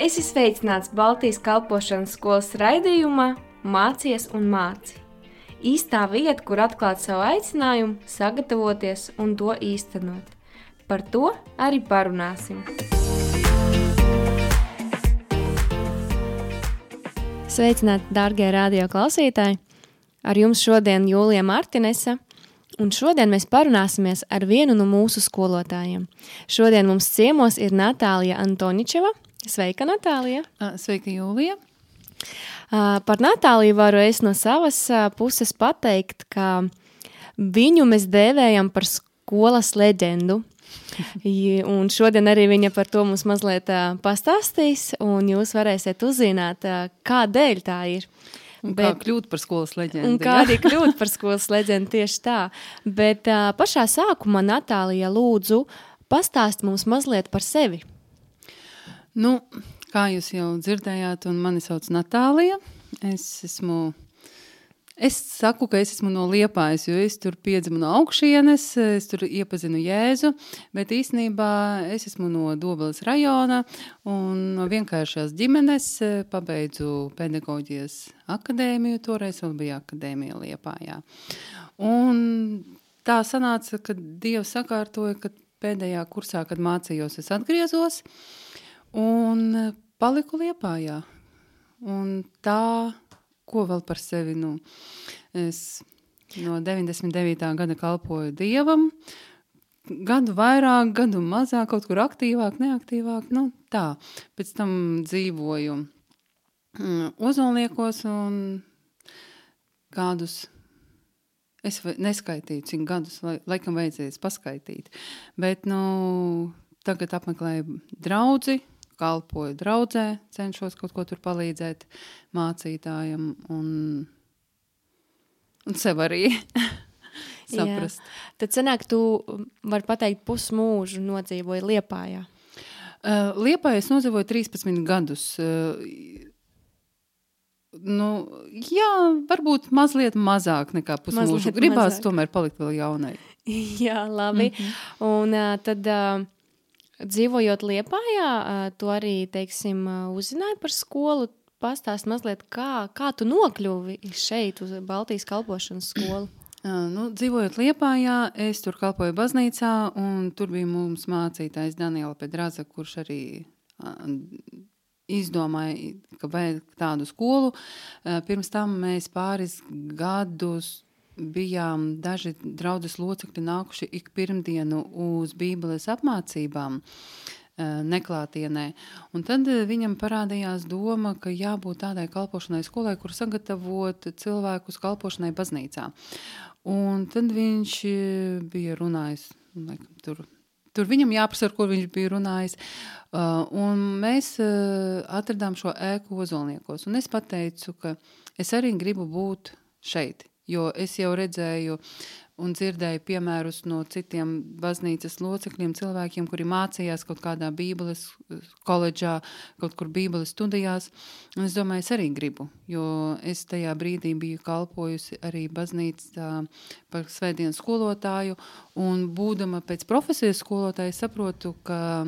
Esi sveicināts Baltijas kalpošanas skolas raidījumā Mācies un māci. Īstā vieta, kur atklāt savu aicinājumu, sagatavoties un to īstenot. Par to arī parunāsim. Sveicināti, dārgie radio klausītāji! Ar jums šodien Jūlija Martinese, un šodien mēs parunāsimies ar vienu no mūsu skolotājiem. Šodien mums ciemos ir Natālija Antoničeva. Sveika, Natālija! Sveika, Jūlija! Par Natāliju varu es no savas puses pateikt, ka viņu mēs dēvējam par skolas leģendu. Un šodien arī viņa par to mums mazliet pastāstīs, un jūs varēsiet uzzināt, kādēļ tā ir. Un kā kļūt par skolas leģendu. Un kā arī kļūt par skolas leģendu, tieši tā. Bet pašā sākumā, Natālija, lūdzu, pastāst mums mazliet par sevi. Nu, kā jūs jau dzirdējāt, un mani sauc Natālija. Es saku, ka es esmu no Liepājas, jo es tur piedzimu no augšienes, es tur iepazinu Jēzu, bet īstenībā es esmu no Dobeles rajona un no vienkāršās ģimenes pabeidzu pedagoģijas akadēmiju, toreiz vēl bija akadēmija Liepājā. Un tā sanāca, ka Dievs sakārtoja, ka pēdējā kursā, kad mācījos, es atgriezos un paliku Liepājā. Un tā, ko vēl par sevi, es no 99. gada kalpoju Dievam, gadu vairāk, gadu mazāk, kaut kur aktīvāk, neaktīvāk, tā. Pēc tam dzīvoju Ozolniekos un gadus, es neskaitīju, cik gadus, laikam vajadzēs paskaitīt, bet, tagad apmeklēju draudzi, kalpoju draudzē, cenšos kaut ko tur palīdzēt mācītājam un sev arī saprast. Jā. Tad sanāk, tu vari pateikt pusmūžu nodzīvoji Liepājā. Liepājā es nodzīvoju 13 gadus. Jā, varbūt mazliet mazāk nekā pusmūžu. Gribās tomēr palikt vēl jaunai. Jā, labi. Un tad... Dzīvojot Liepājā, tu arī, uzzināji par skolu, pastāst mazliet, kā tu nokļuvi šeit uz Baltijas kalpošanas skolu? Dzīvojot Liepājā, es tur kalpoju baznīcā, un tur bija mums mācītājs Daniela Pedraza, kurš arī izdomāja, ka vajag tādu skolu. Pirms tam mēs pāris gadus bijām daži draudzes locekļi nākuši ik pirmdienu uz Bībeles apmācībām neklātienē. Un tad viņam parādījās doma, ka jābūt tādai kalpošanai skolai, kur sagatavot cilvēkus kalpošanai baznīcā. Un tad viņš bija runājis, tur viņam jāprasa, ar ko viņš bija runājis. Un mēs atradām šo ēku Ozolniekos. Un es pateicu, ka es arī gribu būt šeit. Jo es jau redzēju un dzirdēju piemērus no citiem baznīcas locekļiem, cilvēkiem, kuri mācījās kaut kādā Bībeles koledžā, kaut kur Bībeles studijās. Un es domāju, es arī gribu, jo es tajā brīdī biju kalpojusi arī baznīcā par svētdienas skolotāju, un būdama pēc profesijas skolotāja saprotu, ka...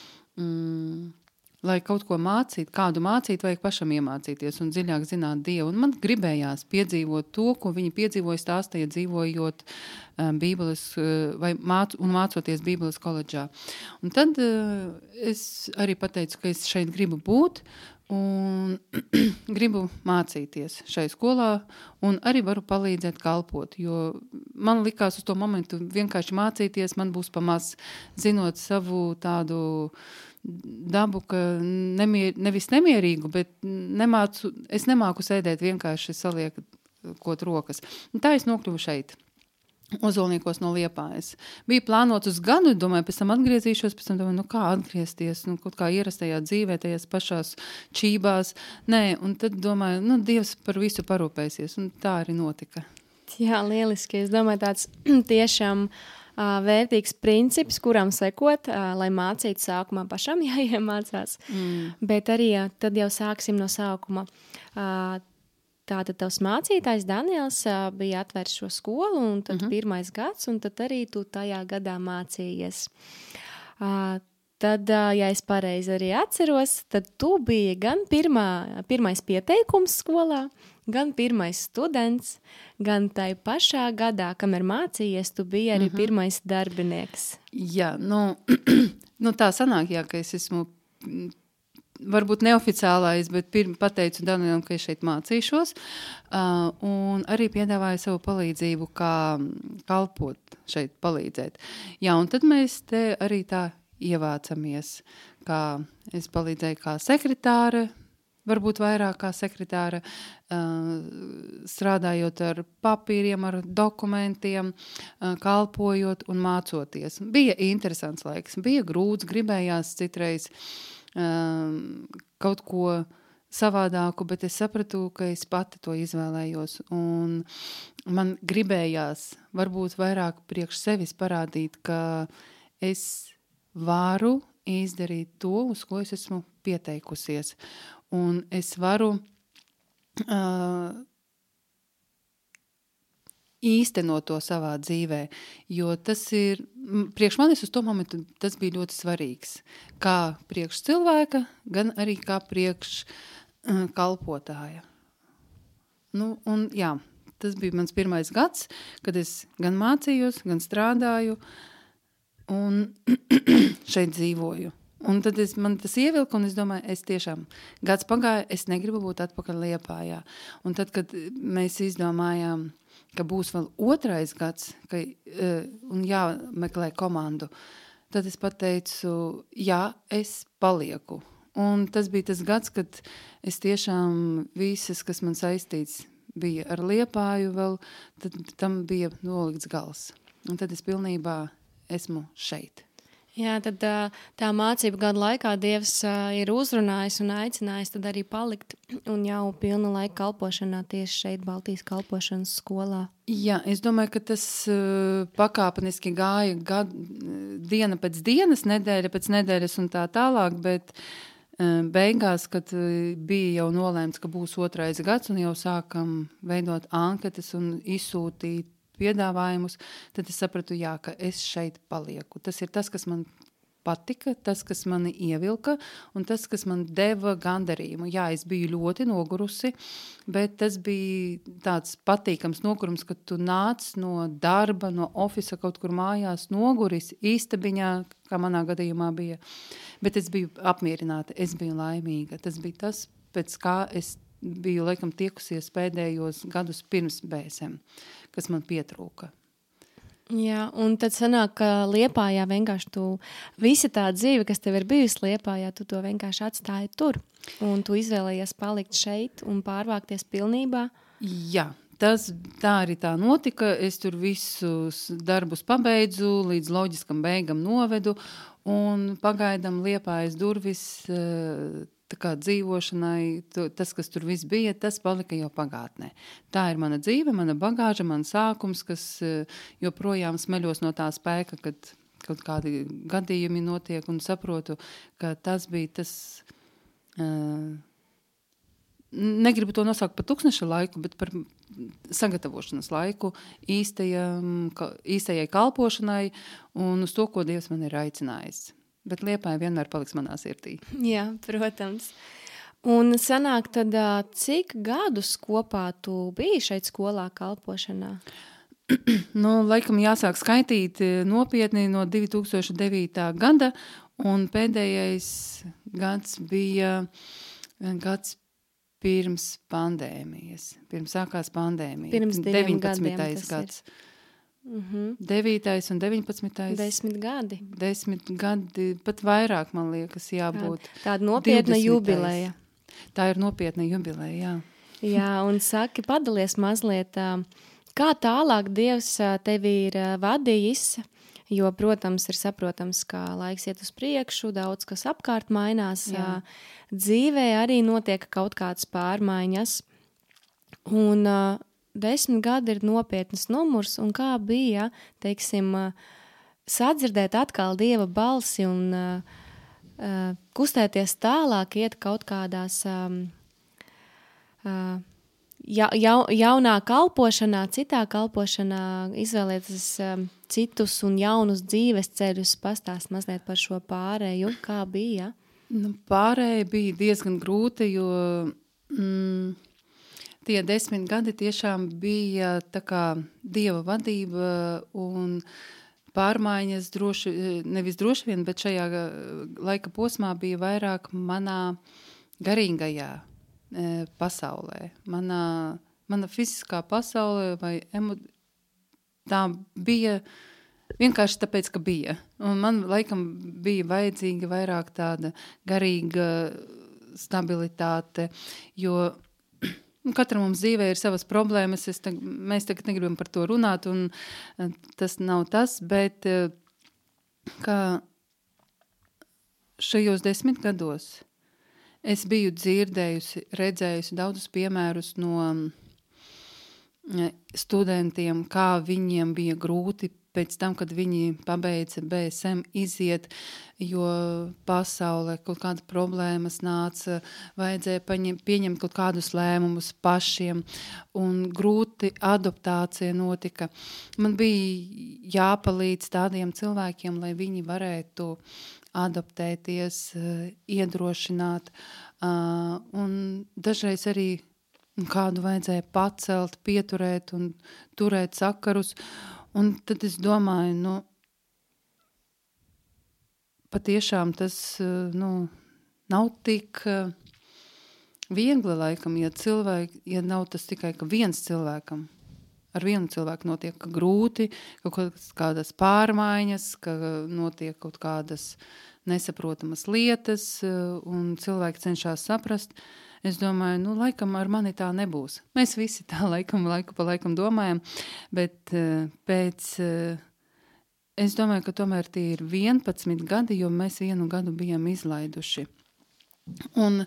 lai kaut ko mācīt, kādu mācīt, vajag pašam iemācīties un dziļāk zināt Dievu. Un man gribējās piedzīvot to, ko viņi piedzīvoja stāstīja dzīvojot Bībeles mācoties Bībeles koledžā. Un tad es arī pateicu, ka es šeit gribu būt un gribu mācīties šai skolā un arī varu palīdzēt kalpot, jo man likās uz to momentu vienkārši mācīties, man būs pamaz zinot savu tādu dabu, ka nevis nemierīgu, bet es nemāku sēdēt vienkārši saliekot rokas. Un tā es nokļuvu šeit, Ozolniekos no Liepājas. Bija plānots uz gadu, domāju, pēc tam atgriezīšos, pēc tam domāju, kā atgriezties, kaut kā ierastajā dzīvē, tajās pašās čībās. Nē, un tad domāju, Dievs par visu parūpēsies, un tā arī notika. Jā, lieliski. Es domāju, tāds tiešām vērtīgs princips, kuram sekot, lai mācītu sākumā pašam jāiemācās. Bet arī tad jau sāksim no sākuma. Tātad tavs mācītājs Daniels bija atvērs šo skolu, un tad pirmais gads, un tad arī tu tajā gadā mācījies. tad, ja es pareizi arī atceros, tad tu biji gan pirmais pieteikums skolā, gan pirmais students, gan tai pašā gadā, kamēr mācījies, tu biji arī pirmais darbinieks. Jā, nu tā sanāk, jā, ka es esmu varbūt neoficiālais, bet pateicu Danielam, ka es šeit mācīšos, un arī piedāvāju savu palīdzību, kā kalpot šeit, palīdzēt. Jā, un tad mēs te arī tā ievācamies, kā es palīdzēju kā sekretāre, varbūt vairāk kā sekretāra, strādājot ar papīriem, ar dokumentiem, kalpojot un mācoties. Bija interesants laiks, bija grūts, gribējās citreiz kaut ko savādāku, bet es sapratu, ka es pati to izvēlējos. Un man gribējās varbūt vairāk priekš sevis parādīt, ka es varu izdarīt to, uz ko es esmu pieteikusies. Un es varu īstenot to savā dzīvē, jo tas ir, priekš manis uz to momentu, tas bija ļoti svarīgs. Kā priekš cilvēka, gan arī kā priekš kalpotāja. Nu, un jā, tas bija mans pirmais gads, kad es gan mācījos, gan strādāju un šeit dzīvoju. Un tad man tas ievilka, un es domāju, es tiešām gads pagāja, es negribu būt atpakaļ Liepājā. Un tad, kad mēs izdomājām, ka būs vēl otrais gads, un jāmeklē komandu, tad es pateicu, jā, es palieku. Un tas bija tas gads, kad es tiešām visas, kas man saistīts bija ar Liepāju vēl, tad tam bija nolikts gals. Un tad es pilnībā esmu šeit. Jā, tad tā mācību gadu laikā Dievs ir uzrunājis un aicinājis tad arī palikt un jau pilna laika kalpošanā tieši šeit Baltijas kalpošanas skolā. Jā, es domāju, ka tas pakāpeniski gāja diena pēc dienas, nedēļa pēc nedēļas un tā tālāk, bet beigās, kad bija jau nolēmts, ka būs otrais gads un jau sākam veidot anketas un izsūtīt piedāvājumus, tad es sapratu, jā, ka es šeit palieku. Tas ir tas, kas man patika, tas, kas mani ievilka un tas, kas man deva gandarījumu. Jā, es biju ļoti nogurusi, bet tas bija tāds patīkams nogurums, kad tu nāc no darba, no ofisa kaut kur mājās noguris, īstabiņā, kā manā gadījumā bija. Bet es biju apmierināta, es biju laimīga. Tas bija tas, pēc kā es biju laikam tiekusies pēdējos gadus pirms BSM, kas man pietrūka. Jā, un tad sanāk, ka Liepājā vienkārši tu visa tā dzīve, kas tev ir bijusi Liepājā, tu to vienkārši atstāji tur. Un tu izvēlējies palikt šeit un pārvākties pilnībā. Jā, tā arī tā notika. Es tur visus darbus pabeidzu, līdz loģiskam beigam novedu un pagaidam Liepājas durvis tā kā dzīvošanai, tas, kas tur viss bija, tas palika jau pagātnē. Tā ir mana dzīve, mana bagāža, man sākums, kas joprojām smeļos no tā spēka, kad kaut kādi gadījumi notiek un saprotu, ka tas bija tas, negribu to nosaukt par tukšneša laiku, bet par sagatavošanas laiku īstajai kalpošanai un uz to, ko Dievs man ir aicinājis. Bet Liepāja vienmēr paliks manā sirdī. Jā, protams. Un sanāk tad, cik gadus kopā tu biji šeit skolā kalpošanā? Laikam jāsāk skaitīt nopietni no 2009. gada, un pēdējais gads bija gads pirms pandēmijas. Pirms sākās pandēmija. Pirms 19. gads. 9. un 19. 10 gadi. 10 gadi, pat vairāk, man liekas, jābūt. Tāda nopietna 20. jubileja. Tā ir nopietna jubileja, jā. Jā, un saki, padalies mazliet, kā tālāk Dievs tevi ir vadījis, jo, protams, ir saprotams, ka laiks iet uz priekšu, daudz kas apkārt mainās, dzīvē arī notiek kaut kādas pārmaiņas, un 10 gadi ir nopietnas numurs, un kā bija, teiksim, sadzirdēt atkal Dieva balsi un kustēties tālāk, iet kaut kādās jaunā kalpošanā, citā kalpošanā izvēlēties citus un jaunus dzīves ceļus, pastāst mazliet par šo pārēju, kā bija? Pārēja bija diezgan grūta, jo tie 10 gadi tiešām bija tā kā Dieva vadība un pārmaiņas nevis droši vien, bet šajā laika posmā bija vairāk manā garīgajā pasaulē. Mana fiziskā pasaulē vai tā bija vienkārši tāpēc, ka bija. Un man laikam bija vajadzīga vairāk tāda garīga stabilitāte, jo katram mums dzīvē ir savas problēmas, mēs tagad negribam par to runāt, un tas nav tas, bet kā šajos 10 gados es biju dzirdējusi, redzējusi daudzus piemērus no studentiem, kā viņiem bija grūti pēc tam, kad viņi pabeidza BSM iziet, jo pasaulē kaut kāda problēmas nāca, vajadzēja pieņemt kaut kādus lēmumus pašiem, un grūti adaptācija notika. Man bija jāpalīdz tādiem cilvēkiem, lai viņi varētu adaptēties, iedrošināt, un dažreiz arī kādu vajadzēja pacelt, pieturēt un turēt sakarus. Un tad es domāju, patiešām tas nav tik viegli laikam, ja nav tas tikai ka viens cilvēkam. Ar vienu cilvēku notiek grūti, kaut kādas pārmaiņas, ka notiek kaut kādas nesaprotamas lietas, un cilvēki cenšas saprast. Es domāju, laikam ar mani tā nebūs. Mēs visi tā laiku pa laikam domājam, bet es domāju, ka tomēr tie ir 11 gadi, jo mēs 1 gadu bijām izlaiduši. Un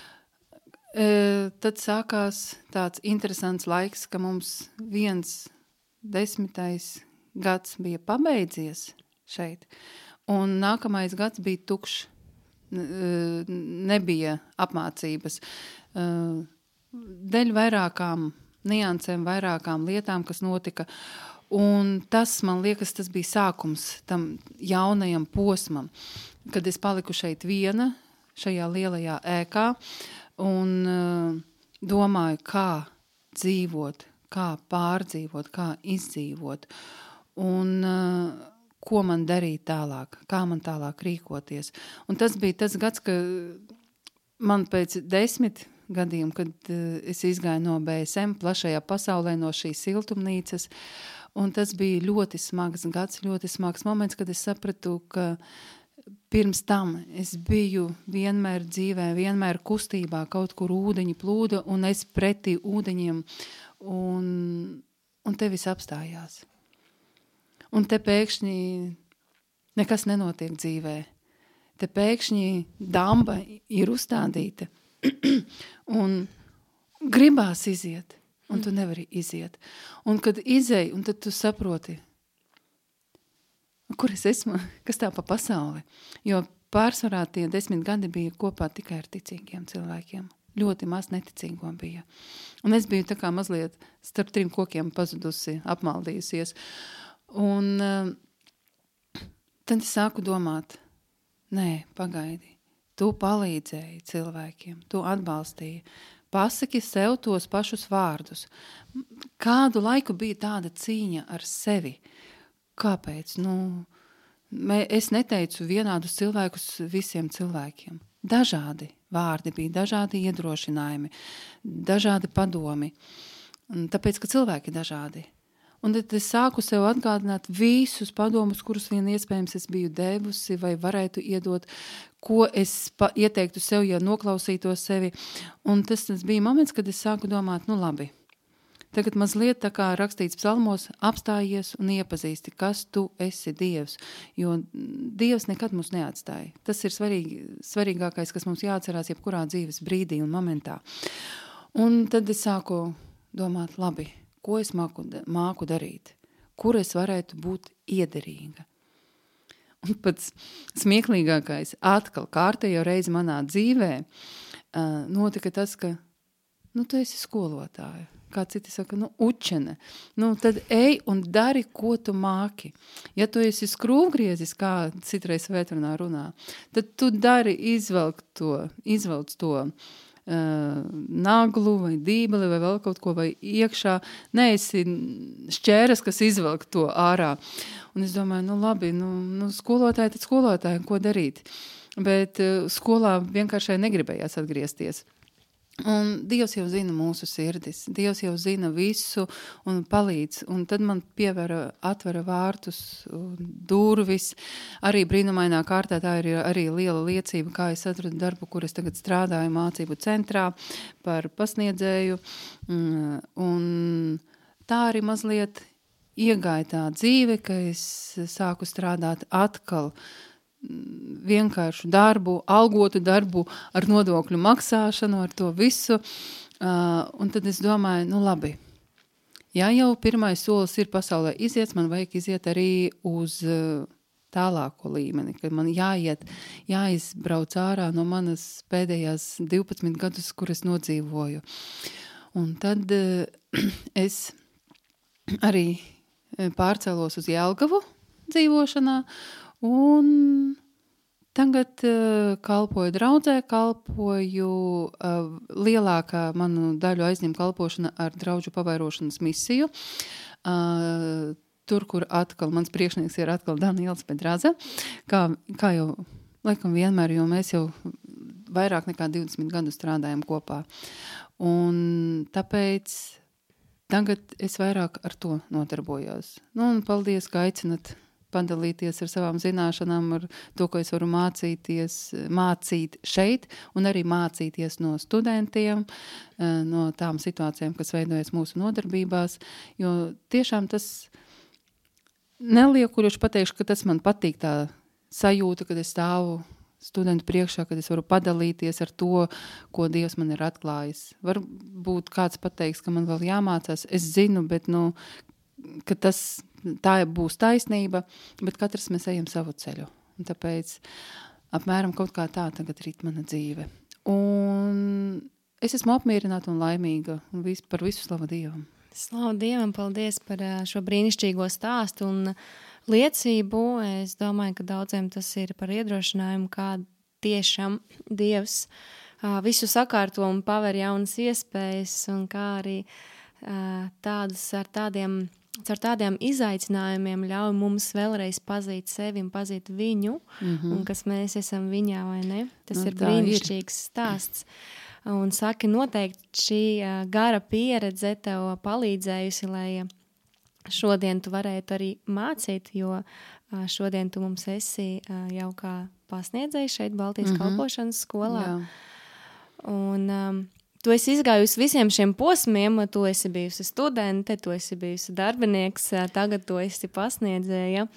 tad sākās tāds interesants laiks, ka mums 10. gads bija pabeidzies šeit, un nākamais gads bija tukšs. Nebija apmācības. Dēļ vairākām niansēm, vairākām lietām, kas notika. Un tas, man liekas, tas bija sākums tam jaunajam posmam, kad es paliku šeit viena, šajā lielajā ēkā, un domāju, kā dzīvot, kā pārdzīvot, kā izdzīvot. Un ko man darīt tālāk, kā man tālāk rīkoties. Un tas bija tas gads, ka man pēc 10 gadiem, kad es izgāju no BSM plašajā pasaulē, no šīs siltumnīcas, un tas bija ļoti smags gads, ļoti smags moments, kad es sapratu, ka pirms tam es biju vienmēr dzīvē, vienmēr kustībā, kaut kur ūdeņi plūda, un es pretī ūdeņiem, un te viss apstājās. Un te pēkšņi nekas nenotiek dzīvē. Te pēkšņi damba ir uzstādīta un gribās iziet, un tu nevari iziet. Un kad izej, un tad tu saproti, kur es esmu, kas tā pa pasauli. Jo pārsvarā tie 10 gadi bija kopā tikai ar ticīgiem cilvēkiem. Ļoti maz neticīgo bija. Un es biju tā kā mazliet starp 3 kokiem pazudusi, apmaldījusies. Un tad es sāku domāt, nē, pagaidi, tu palīdzēji cilvēkiem, tu atbalstīji, pasaki sev tos pašus vārdus. Kādu laiku bija tāda cīņa ar sevi? Kāpēc? Es neteicu vienādus cilvēkus visiem cilvēkiem. Dažādi vārdi bija, dažādi iedrošinājumi, dažādi padomi, tāpēc, ka cilvēki ir dažādi. Un tad es sāku sev atgādināt visus padomus, kurus vien iespējams es biju devusi vai varētu iedot, ko es ieteiktu sev, ja noklausītos sevi. Un tas bija moments, kad es sāku domāt, labi, tagad mazliet tā kā rakstīts psalmos, apstājies un iepazīsti, kas tu esi Dievs, jo Dievs nekad mūs neatstāja. Tas ir svarīgākais, kas mums jāatcerās jebkurā dzīves brīdī un momentā. Un tad es sāku domāt, labi, ko es māku darīt, kur es varētu būt iederīga. Un pats smieklīgākais atkal kārtējo reizi manā dzīvē notika tas, ka tu esi skolotāja. Kā citi saka, učene. Tad ej un dari, ko tu māki. Ja tu esi skrūvgriezis, kā citreiz vētrunā runā, tad tu dari izvelc to naglu vai dībeli vai vēl kaut ko vai iekšā. Neesi šķēras, kas izvelk to ārā. Un es domāju, labi, skolotāji, tad skolotāji, ko darīt? Bet skolā vienkārši negribējās atgriezties. Un Dievs jau zina mūsu sirdis, Dievs jau zina visu un palīdz, un tad man atvera vārtus un durvis, arī brīnumainā kārtā, tā ir arī liela liecība, kā es atradu darbu, kur es tagad strādāju mācību centrā par pasniedzēju, un tā arī mazliet iegāja tā dzīve, ka es sāku strādāt atkal vienkāršu darbu, algotu darbu ar nodokļu maksāšanu, ar to visu. Un tad es domāju, labi, ja jau pirmais solis ir pasaulē iziet, man vajag iziet arī uz tālāko līmeni, ka man jāizbrauc ārā no manas pēdējās 12 gadus, kur es nodzīvoju. Un tad es arī pārcēlos uz Jelgavu dzīvošanā, un tagad kalpoju draudzē, lielākā manu daļu aizņem kalpošana ar draudžu pavairošanas misiju. Tur, kur atkal mans priekšnieks ir atkal Daniels Pedraza, kā jau laikam vienmēr, jo mēs jau vairāk nekā 20 gadu strādājam kopā. Un tāpēc tagad es vairāk ar to notarbojos. Un paldies, ka aicinat padalīties ar savām zināšanām, ar to, ko es varu mācīt šeit, un arī mācīties no studentiem, no tām situācijām, kas veidojas mūsu nodarbībās, jo tiešām tas neliekuļoši pateikšu, ka tas man patīk tā sajūta, kad es stāvu studentu priekšā, kad es varu padalīties ar to, ko Dievs man ir atklājis. Varbūt kāds pateiks, ka man vēl jāmācās, es zinu, bet ka tā būs taisnība, bet katrs mēs ejam savu ceļu. Un tāpēc apmēram kaut kā tā tagad rīt mana dzīve. Un es esmu apmierināta un laimīga un par visu slavu Dievam. Slavu Dievam, paldies par šo brīnišķīgo stāstu un liecību. Es domāju, ka daudziem tas ir par iedrošinājumu, kā tiešām Dievs visu sakārto un paver jaunas iespējas un kā arī ar tādiem izaicinājumiem ļauj mums vēlreiz pazīt sevi un pazīt viņu, un kas mēs esam viņā, vai ne? Tas ir brīnišķīgs stāsts. Un saki, noteikti šī gara pieredze tev palīdzējusi, lai šodien tu varētu arī mācīt, jo šodien tu mums esi jau kā pasniedzējis šeit Baltijas kalpošanas skolā. Jā. Un tu esi izgājusi visiem šiem posmiem, tu esi bijusi studente, tu esi bijusi darbinieks, tagad tu esi pasniedzēja.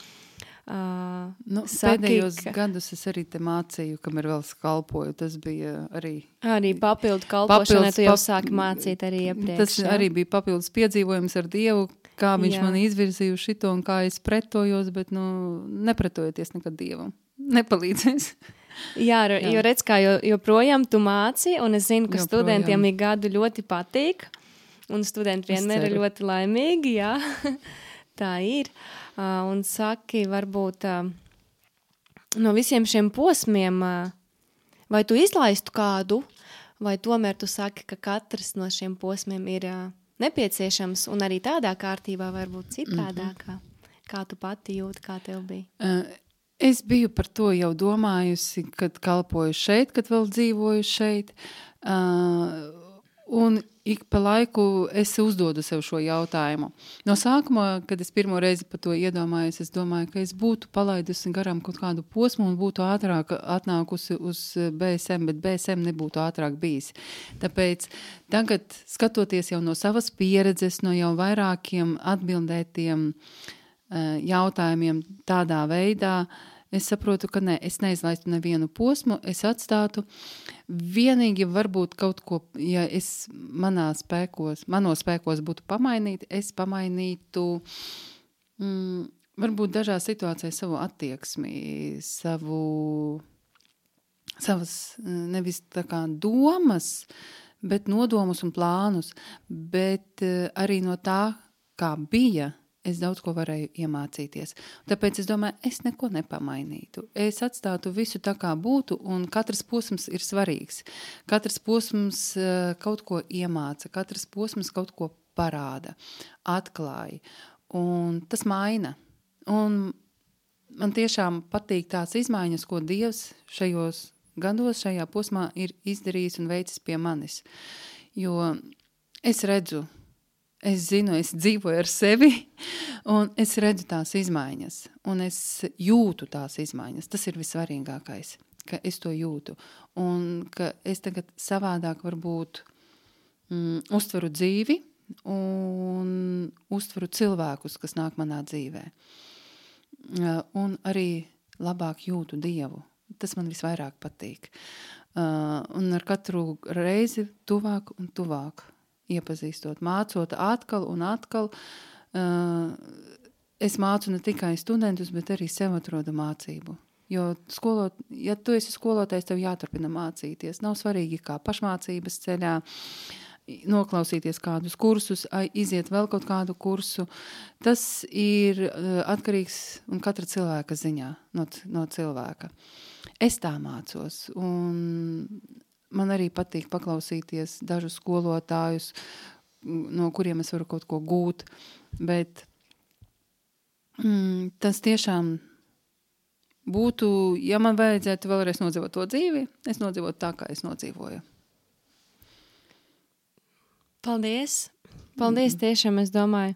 Pēdējos gadus es arī te mācīju, kamēr vēl kalpoju, tas bija arī... Arī papildu kalpošanai tu jau sāki mācīt arī iepriekš. Tas arī bija papildus piedzīvojums ar Dievu, kā viņš man izvirzīja šito un kā es pretojos, bet nepretojoties nekad Dievam. Nepalīdzēs. Jā, jo redz, kā joprojām tu māci, un es zinu, ka studentiem ir gadu ļoti patīk, un studenti vienmēr ir ļoti laimīgi, jā, tā ir. Un saki, varbūt no visiem šiem posmiem, vai tu izlaistu kādu, vai tomēr tu saki, ka katrs no šiem posmiem ir nepieciešams, un arī tādā kārtībā varbūt citādākā, kā tu pati jūti, kā tev bija? Es biju par to jau domājusi, kad kalpoju šeit, kad vēl dzīvoju šeit, un ik pa laiku es uzdodu sev šo jautājumu. No sākuma, kad es pirmo reizi par to iedomājos, es domāju, ka es būtu palaidusi garām kaut kādu posmu un būtu ātrāk atnākusi uz BSM, bet BSM nebūtu ātrāk bijis. Tāpēc tagad, skatoties jau no savas pieredzes, no jau vairākiem atbildētiem jautājumiem tādā veidā, es saprotu, ka es neizlaistu nevienu posmu, es atstātu. Vienīgi varbūt kaut ko, ja es manos spēkos būtu pamainīt, es pamainītu varbūt dažās situācijās savu attieksmi, savas nevis tā kā domas, bet nodomus un plānus, bet arī no tā, kā bija, es daudz ko varēju iemācīties. Tāpēc es domāju, es neko nepamainītu. Es atstātu visu tā, kā būtu, un katrs posms ir svarīgs. Katrs posms kaut ko iemāca, katrs posms kaut ko parāda, atklāja, un tas maina. Un man tiešām patīk tās izmaiņas, ko Dievs šajos gados, šajā posmā ir izdarījis un veicis pie manis. Jo es redzu, es zinu, es dzīvoju ar sevi, un es redzu tās izmaiņas, un es jūtu tās izmaiņas. Tas ir vissvarīgākais, ka es to jūtu, un ka es tagad savādāk varbūt uztveru dzīvi un uztveru cilvēkus, kas nāk manā dzīvē. Un arī labāk jūtu Dievu. Tas man visvairāk patīk. Un ar katru reizi tuvāk un tuvāk iepazīstot, mācot atkal un atkal. Es mācu ne tikai studentus, bet arī sev atrodu mācību. Jo ja tu esi skolotājs, tev jāturpina mācīties. Nav svarīgi kā pašmācības ceļā, noklausīties kādus kursus, iziet vēl kaut kādu kursu. Tas ir atkarīgs un katra cilvēka ziņā, no cilvēka. Es tā mācos, un man arī patīk paklausīties dažus skolotājus, no kuriem es varu kaut ko gūt, bet tas tiešām būtu, ja man vajadzētu vēlreiz nodzīvot to dzīvi, es nodzīvotu tā, kā es nodzīvoju. Paldies! Paldies tiešām, es domāju.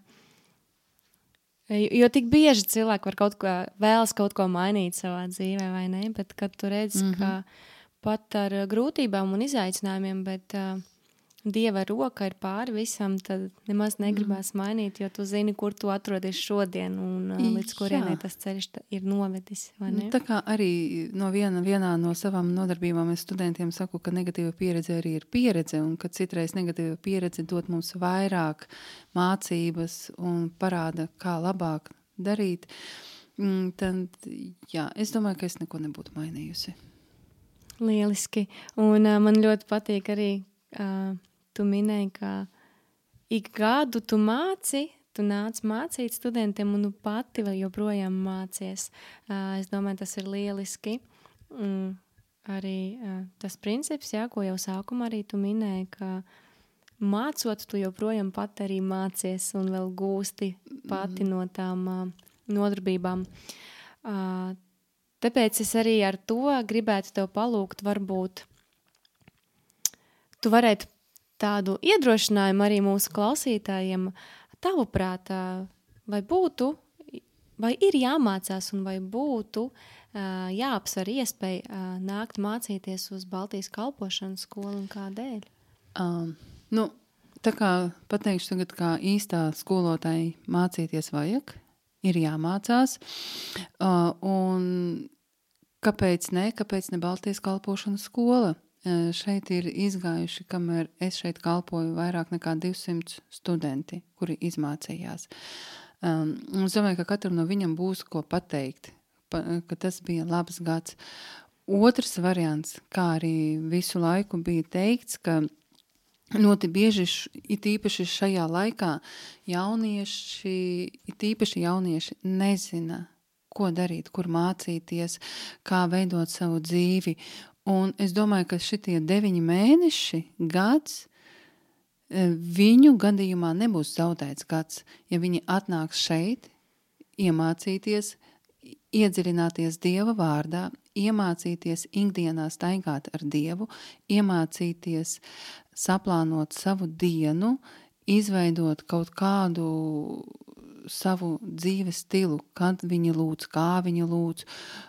Jo tik bieži cilvēki var vēlas kaut ko mainīt savā dzīvē, vai ne? Bet kad tu redzi, ka pat ar grūtībām un izaicinājumiem, bet Dieva roka ir pāri visam, tad nemaz negribās mainīt, jo tu zini, kur tu atrodies šodien un līdz kurienai tas ceļš ir novedis, vai ne? Tā kā arī vienā no savām nodarbībām es studentiem saku, ka negatīva pieredze arī ir pieredze, un ka citreiz negatīva pieredze dod mums vairāk mācības un parāda, kā labāk darīt, tad, jā, es domāju, ka es neko nebūtu mainījusi. Lieliski. Un man ļoti patīk arī, tu minēji, ka ik gadu tu nāc mācīt studentiem un tu pati vēl joprojām mācies. Es domāju, tas ir lieliski. Arī tas princips, jā, ko jau sākumā arī tu minēji, ka mācot, tu joprojām pati arī mācies un vēl gūsti pati no tām nodarbībām. Tāpēc es arī ar to gribētu tev palūgt, varbūt tu varētu tādu iedrošinājumu arī mūsu klausītājiem, tavuprāt, vai ir jāmācās un vai būtu jāapsver iespēja nākt mācīties uz Baltijas kalpošanas skolu un kādēļ? Tā kā pateikšu tagad, kā īstā skolotāja mācīties vajag, ir jāmācās, un kāpēc ne Baltijas kalpošanas skola? Šeit ir izgājuši, kamēr es šeit kalpoju, vairāk nekā 200 studenti, kuri izmācījās. Es domāju, ka katram no viņam būs ko pateikt, ka tas bija labs gads. Otrs variants, kā arī visu laiku bija teikts, ka ļoti bieži, it īpaši šajā laikā, jaunieši nezina, ko darīt, kur mācīties, kā veidot savu dzīvi. Un es domāju, ka šitie 9 mēneši, gads, viņu gadījumā nebūs zaudēts gads, ja viņi atnāks šeit, iemācīties, iedziļināties Dieva vārdā, iemācīties ikdienā staigāt ar Dievu, iemācīties saplānot savu dienu, izveidot kaut kādu savu dzīves stilu, kad viņi lūdz, kā viņi lūdz,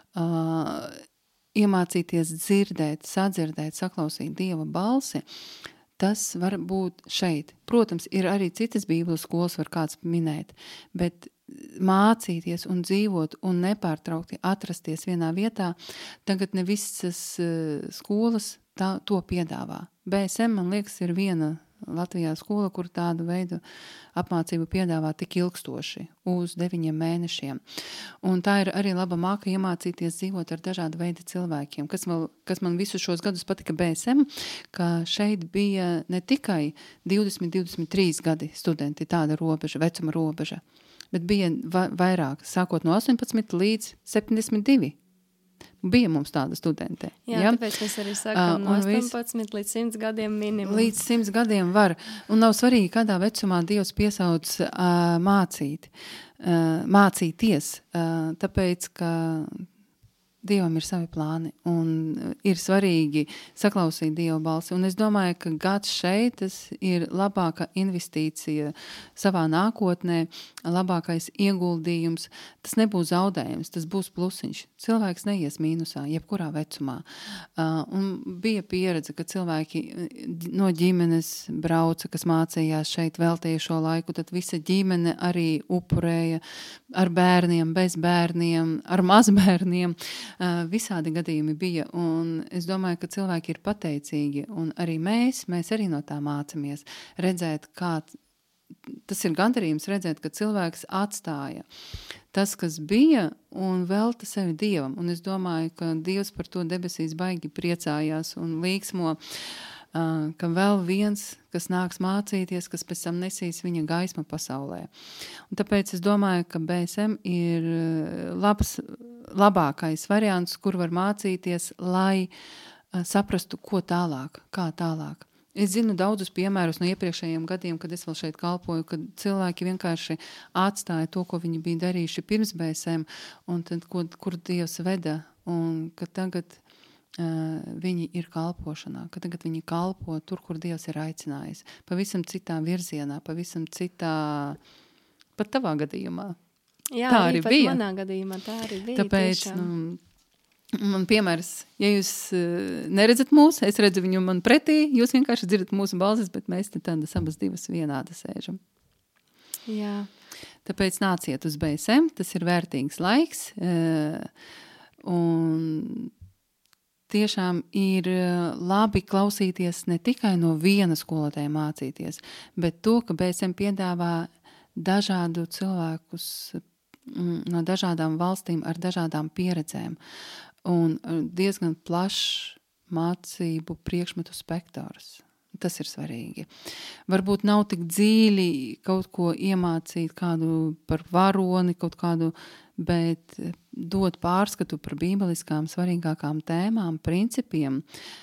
iemācīties dzirdēt, sadzirdēt, saklausīt Dieva balsi, tas var būt šeit. Protams, ir arī citas bībeles skolas, var kāds minēt, bet mācīties un dzīvot un nepārtraukti atrasties vienā vietā, tagad ne visas skolas to piedāvā. BSM, man liekas, ir viena Latvijā skola, kur tādu veidu apmācību piedāvā tik ilgstoši, uz 9 mēnešiem. Un tā ir arī laba māka iemācīties dzīvot ar dažādu veidu cilvēkiem. Kas man visus šos gadus patika BSM, ka šeit bija ne tikai 20-23 gadi studenti, tāda robeža, vecuma robeža, bet bija vairāk, sākot no 18 līdz 72. Bija mums tāda studente. Jā, tāpēc mēs arī sakām no 18 līdz 100 gadiem minimum. Līdz 100 gadiem var. Un nav svarīgi, kādā vecumā Dievs piesauc mācīties, tāpēc, ka Dievam ir savi plāni un ir svarīgi saklausīt Dieva balsi. Un es domāju, ka gads šeit ir labāka investīcija savā nākotnē, labākais ieguldījums. Tas nebūs zaudējums, tas būs plusiņš. Cilvēks neies mīnusā, jebkurā vecumā. Un bija pieredze, ka cilvēki no ģimenes brauca, kas mācījās šeit, veltīja šo laiku, tad visa ģimene arī upurēja ar bērniem, bez bērniem, ar mazbērniem. Visādi gadījumi bija, un es domāju, ka cilvēki ir pateicīgi, un arī mēs arī no tā mācamies redzēt, kā tas ir gandarījums redzēt, ka cilvēks atstāja tas, kas bija, un velta sevi Dievam, un es domāju, ka Dievs par to debesīs baigi priecājās un līksmo, ka vēl viens, kas nāks mācīties, kas pēc tam nesīs viņa gaismu pasaulē. Un tāpēc es domāju, ka BSM ir labākais variants, kur var mācīties, lai saprastu, ko tālāk, kā tālāk. Es zinu daudzus piemērus no iepriekšējiem gadiem, kad es vēl šeit kalpoju, kad cilvēki vienkārši atstāja to, ko viņi bija darījuši pirms BSM, un tad, kur Dievs veda, un ka tagad viņi ir kalpošanā, ka tagad viņi kalpo tur, kur Dievs ir aicinājis. Pavisam citā virzienā, pavisam citā, pat tavā gadījumā. Jā, tā arī bija. Manā gadījumā tā arī bija. Tāpēc, man piemērs, ja jūs neredzat mūs, es redzu viņu man pretī, jūs vienkārši dzirdat mūsu balsis, bet mēs te tādas abas divas vienādi sēžam. Jā. Tāpēc nāciet uz BSM, tas ir vērtīgs laiks, un tiešām ir labi klausīties ne tikai no viena skolotāja mācīties, bet to, ka BSM piedāvā dažādu cilvēkus no dažādām valstīm ar dažādām pieredzēm un diezgan plašs mācību priekšmetu spektrs. Tas ir svarīgi. Varbūt nav tik dziļi kaut ko iemācīt kādu par varoni, kaut kādu, bet dot pārskatu par bībeliskām svarīgākām tēmām, principiem,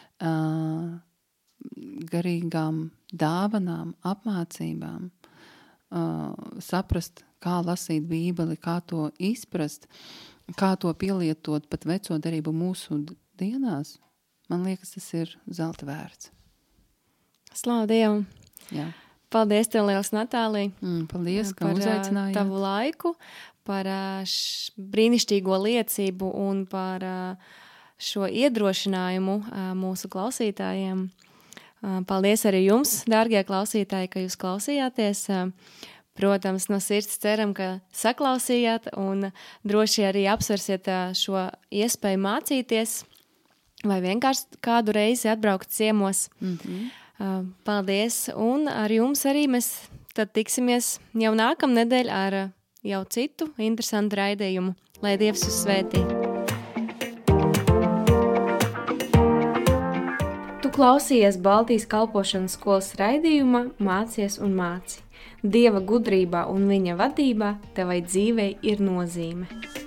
garīgām dāvanām, apmācībām, saprast, kā lasīt bībeli, kā to izprast, kā to pielietot pat veco derību mūsu dienās. Man liekas, tas ir zelta vērts. Slavu Dievam! Jā. Paldies tev liels, Natālija! Paldies, ka uzaicinājāt. Par tavu laiku, par brīnišķīgo liecību un par šo iedrošinājumu mūsu klausītājiem. Paldies arī jums, dārgie klausītāji, ka jūs klausījāties. Protams, no sirds ceram, ka saklausījāt un droši arī apsversiet šo iespēju mācīties vai vienkārši kādu reizi atbraukt ciemos. Paldies, un ar jums arī mēs tad tiksimies jau nākamnedēļ ar jau citu interesantu raidījumu. Lai Dievs jūs svētī! Tu klausījies Baltijas kalpošanas skolas raidījuma Mācies un māci. Dieva gudrībā un viņa vadībā tevai dzīvei ir nozīme.